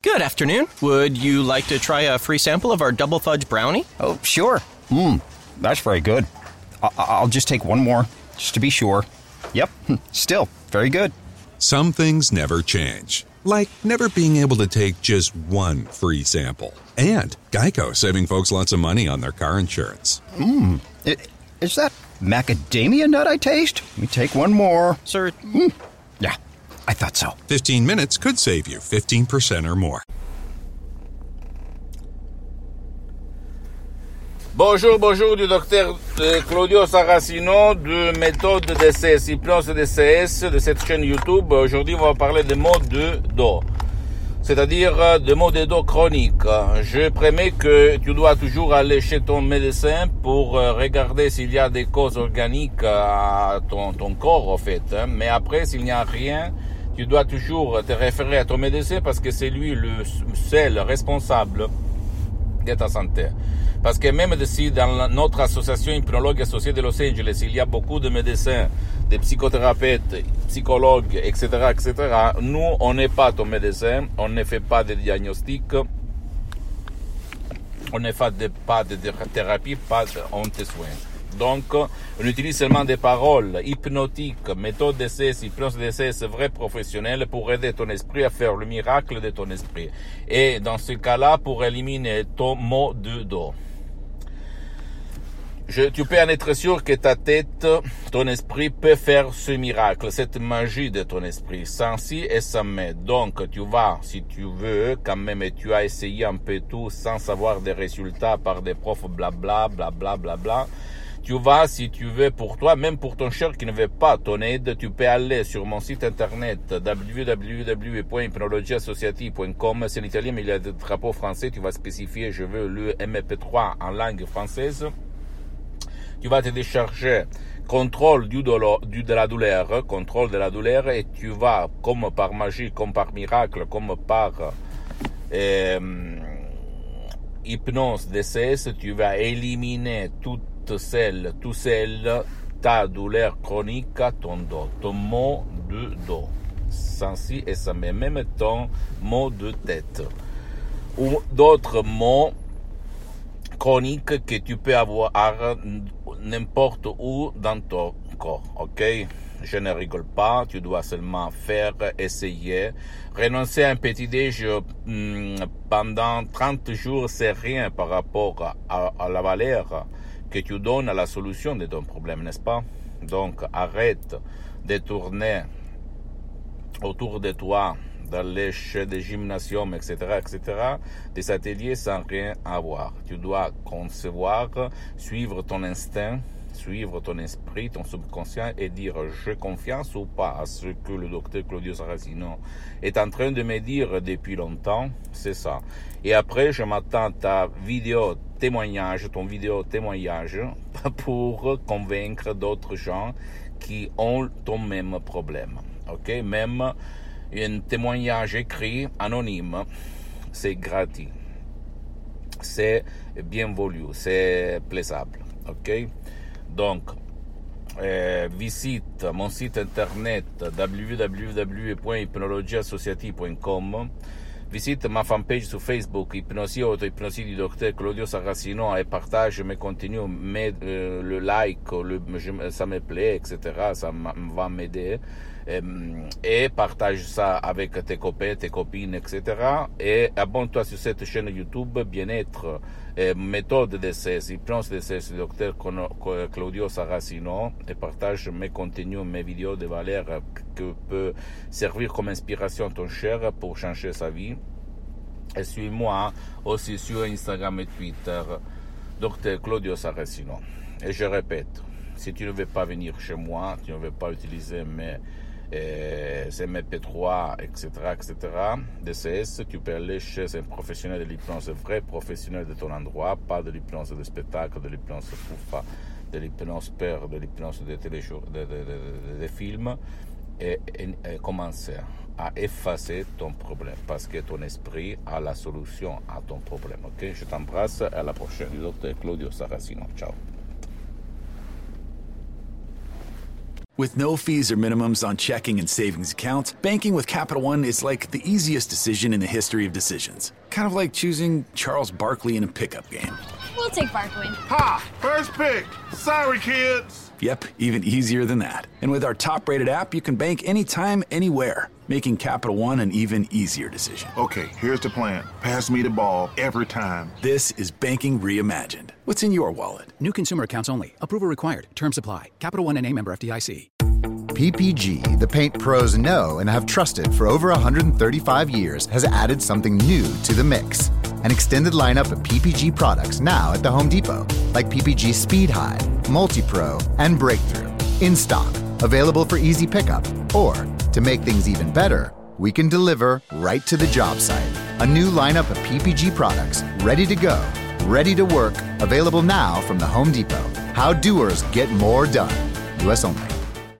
Good afternoon. Would you like to try a free sample of our double fudge brownie? Oh, sure. That's very good. I'll just take one more, just to be sure. Yep, still very good. Some things never change, like never being able to take just one free sample. And Geico saving folks lots of money on their car insurance. Is that macadamia nut I taste? Let me take one more. Sir, Yeah, I thought so. 15 minutes could save you 15% or more. Bonjour du docteur Claudio Saracino de méthode DCS, hypnose DCS de cette chaîne YouTube. Aujourd'hui, on va parler des maux de dos, c'est-à-dire des maux de dos chroniques. Je promets que tu dois toujours aller chez ton médecin pour regarder s'il y a des causes organiques à ton corps, en fait. Mais après, s'il n'y a rien, tu dois toujours te référer à ton médecin parce que c'est lui le seul responsable de ta santé. Parce que même si dans notre association hypnologue associée de Los Angeles, il y a beaucoup de médecins, de psychothérapeutes, psychologues, etc., nous, on n'est pas ton médecin, on ne fait pas de diagnostic, on ne fait pas de thérapie, on te soigne. Donc, on utilise seulement des paroles hypnotiques, méthode DCS, hypnose DCS, vrai professionnel pour aider ton esprit à faire le miracle de ton esprit. Et dans ce cas-là, pour éliminer ton mot de dos. Tu peux en être sûr que ta tête, ton esprit peut faire ce miracle, cette magie de ton esprit, sans si et sans mais. Donc, tu vas, si tu veux, quand même, et tu as essayé un peu tout sans avoir des résultats par des profs blabla, tu vas, si tu veux, pour toi, même pour ton cher qui ne veut pas ton aide, tu peux aller sur mon site internet www.hypnologieassociative.com. C'est en italien, mais il y a des drapeaux français. Tu vas spécifier, je veux le MP3 en langue française. Tu vas te décharger contrôle de la douleur, et tu vas, comme par magie, comme par miracle, comme par hypnose DCS, tu vas éliminer tout seul, ta douleur chronique à ton dos, ton mot de dos, sans si et sans mais, même ton mot de tête, ou d'autres mots chroniques que tu peux avoir n'importe où dans ton corps, ok? Je ne rigole pas, tu dois seulement essayer. Renoncer à un petit déj pendant 30 jours, c'est rien par rapport à la valeur que tu donnes à la solution de ton problème, n'est-ce pas? Donc, arrête de tourner autour de toi dans les chais de gymnasium, etc., des ateliers sans rien avoir. Tu dois concevoir, suivre ton instinct, suivre ton esprit, ton subconscient et dire j'ai confiance ou pas à ce que le docteur Claudio Saracino est en train de me dire depuis longtemps, c'est ça. Et après, je m'attends à ton vidéo témoignage pour convaincre d'autres gens qui ont ton même problème. Ok? Même un témoignage écrit, anonyme, c'est gratuit. C'est bien voulu, c'est plaisable. Ok? Donc, visite mon site internet www.hypnologieassociative.com. Visite ma fanpage sur Facebook, Hypnosie Auto-Hypnosie du docteur Claudio Saracino, et partage mes contenus, le like, ça me plaît, etc. Ça va m'aider. Et partage ça avec tes copains, tes copines, etc. Et abonne-toi sur cette chaîne YouTube, Bien-être, méthode DCS, hypnose DCS du docteur Claudio Saracino, et partage mes contenus, mes vidéos de valeur que peut servir comme inspiration à ton cher pour changer sa vie. Et suis-moi aussi sur Instagram et Twitter, docteur Claudio Saracino. Et je répète, si tu ne veux pas venir chez moi, tu ne veux pas utiliser ces MP3, etc., DCS, tu peux aller chez un professionnel de l'hypnose, vrai professionnel de ton endroit, pas de l'hypnose de spectacle, de l'hypnose foufa, de l'hypnose peur, de l'hypnose de films, et commencer à effacer ton problème, parce que ton esprit a la solution à ton problème. Ok, je t'embrasse, à la prochaine. Docteur Claudio Saracino, ciao. With no fees or minimums on checking and savings accounts, banking with Capital One is like the easiest decision in the history of decisions. Kind of like choosing Charles Barkley in a pickup game. We'll take Barkley. Ha! First pick. Sorry, kids. Yep, even easier than that. And with our top-rated app, you can bank anytime, anywhere, making Capital One an even easier decision. Okay, here's the plan. Pass me the ball every time. This is banking reimagined. What's in your wallet? New consumer accounts only. Approval required. Terms apply. Capital One N.A. member FDIC. PPG, the paint pros know and have trusted for over 135 years, has added something new to the mix. An extended lineup of PPG products now at the Home Depot, like PPG Speed High, Multi-Pro, and Breakthrough. In stock, available for easy pickup, or, to make things even better, we can deliver right to the job site. A new lineup of PPG products, ready to go, ready to work, available now from the Home Depot. How doers get more done. U.S. only.